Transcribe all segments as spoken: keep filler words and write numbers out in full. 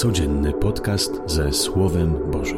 Codzienny podcast ze Słowem Bożym.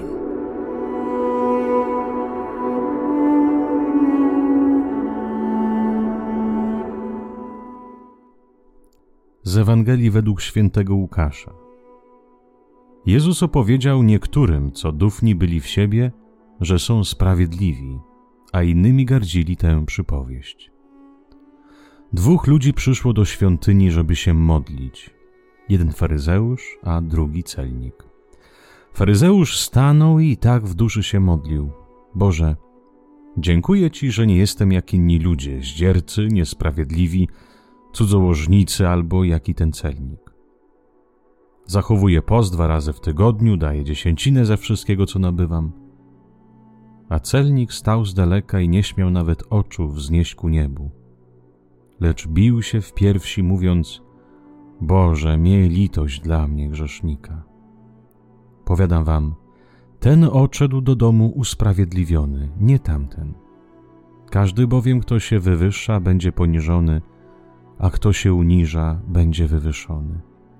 Z Ewangelii według świętego Łukasza. Jezus opowiedział niektórym, co dufni byli w siebie, że są sprawiedliwi, a innymi gardzili tę przypowieść. Dwóch ludzi przyszło do świątyni, żeby się modlić. Jeden faryzeusz, a drugi celnik. Faryzeusz stanął i tak w duszy się modlił. Boże, dziękuję Ci, że nie jestem jak inni ludzie, zdziercy, niesprawiedliwi, cudzołożnicy albo jak i ten celnik. Zachowuję post dwa razy w tygodniu, daję dziesięcinę ze wszystkiego, co nabywam. A celnik stał z daleka i nie śmiał nawet oczu wznieść ku niebu. Lecz bił się w piersi, mówiąc: Boże, miej litość dla mnie, grzesznika. Powiadam wam, ten odszedł do domu usprawiedliwiony, nie tamten. Każdy bowiem, kto się wywyższa, będzie poniżony, a kto się uniża, będzie wywyższony.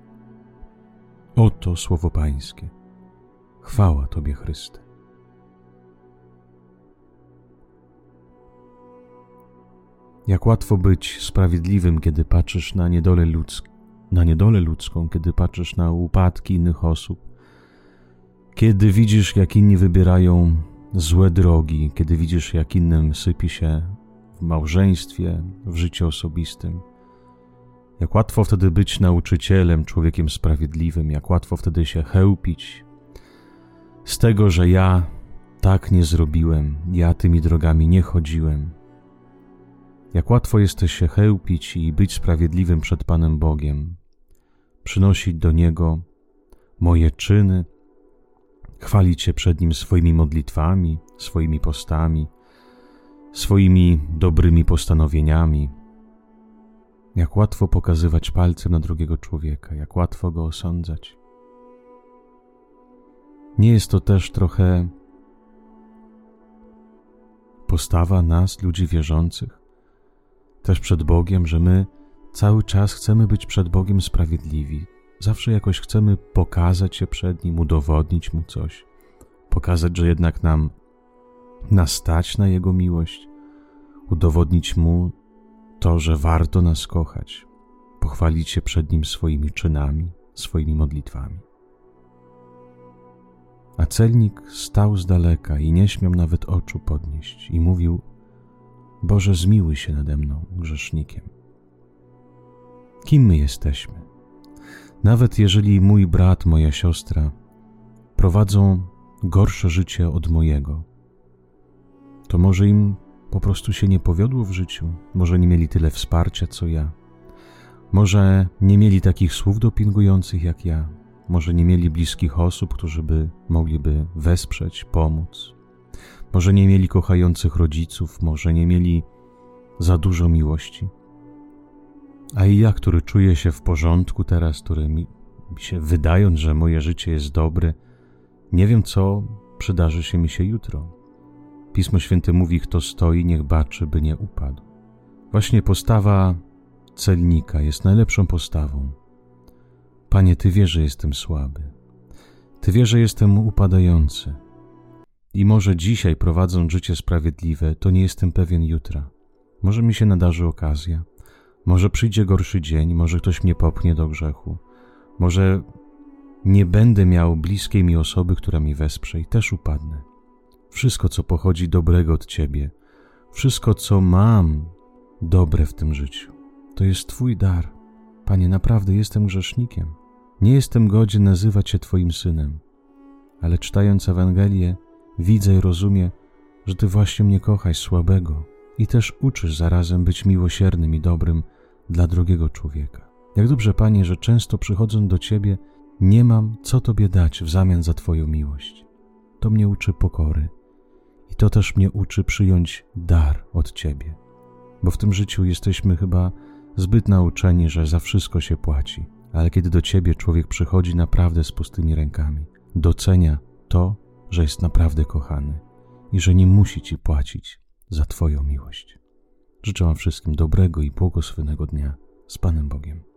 Oto słowo Pańskie. Chwała Tobie, Chryste. Jak łatwo być sprawiedliwym, kiedy patrzysz na niedolę ludzką, na niedolę ludzką, kiedy patrzysz na upadki innych osób, kiedy widzisz, jak inni wybierają złe drogi, kiedy widzisz, jak innym sypie się w małżeństwie, w życiu osobistym. Jak łatwo wtedy być nauczycielem, człowiekiem sprawiedliwym, jak łatwo wtedy się chełpić z tego, że ja tak nie zrobiłem, ja tymi drogami nie chodziłem. Jak łatwo jest się chełpić i być sprawiedliwym przed Panem Bogiem, przynosić do Niego moje czyny, chwalić się przed Nim swoimi modlitwami, swoimi postami, swoimi dobrymi postanowieniami. Jak łatwo pokazywać palcem na drugiego człowieka, jak łatwo go osądzać. Nie jest to też trochę postawa nas, ludzi wierzących, też przed Bogiem, że my cały czas chcemy być przed Bogiem sprawiedliwi. Zawsze jakoś chcemy pokazać się przed Nim, udowodnić Mu coś. Pokazać, że jednak nam nas stać na Jego miłość. Udowodnić Mu to, że warto nas kochać. Pochwalić się przed Nim swoimi czynami, swoimi modlitwami. A celnik stał z daleka i nie śmiał nawet oczu podnieść i mówił: Boże, zmiłuj się nade mną, grzesznikiem. Kim my jesteśmy? Nawet jeżeli mój brat, moja siostra prowadzą gorsze życie od mojego, to może im po prostu się nie powiodło w życiu, może nie mieli tyle wsparcia, co ja, może nie mieli takich słów dopingujących jak ja, może nie mieli bliskich osób, którzy by mogliby wesprzeć, pomóc. Może nie mieli kochających rodziców, może nie mieli za dużo miłości. A i ja, który czuję się w porządku teraz, który mi się wydając, że moje życie jest dobre, nie wiem, co przydarzy się mi się jutro. Pismo Święte mówi: kto stoi, niech baczy, by nie upadł. Właśnie postawa celnika jest najlepszą postawą. Panie, Ty wiesz, że jestem słaby. Ty wiesz, że jestem upadający. I może dzisiaj, prowadząc życie sprawiedliwe, to nie jestem pewien jutra. Może mi się nadarzy okazja, może przyjdzie gorszy dzień, może ktoś mnie popchnie do grzechu, może nie będę miał bliskiej mi osoby, która mi wesprze i też upadnę. Wszystko, co pochodzi dobrego od Ciebie, wszystko, co mam dobre w tym życiu, to jest Twój dar. Panie, naprawdę jestem grzesznikiem. Nie jestem godzien nazywać się Twoim synem, ale czytając Ewangelię, widzę i rozumiem, że Ty właśnie mnie kochasz, słabego, i też uczysz zarazem być miłosiernym i dobrym dla drugiego człowieka. Jak dobrze, Panie, że często przychodząc do Ciebie, nie mam co Tobie dać w zamian za Twoją miłość. To mnie uczy pokory i to też mnie uczy przyjąć dar od Ciebie, bo w tym życiu jesteśmy chyba zbyt nauczeni, że za wszystko się płaci, ale kiedy do Ciebie człowiek przychodzi naprawdę z pustymi rękami, docenia to, że jest naprawdę kochany i że nie musi Ci płacić za Twoją miłość. Życzę Wam wszystkim dobrego i błogosławionego dnia z Panem Bogiem.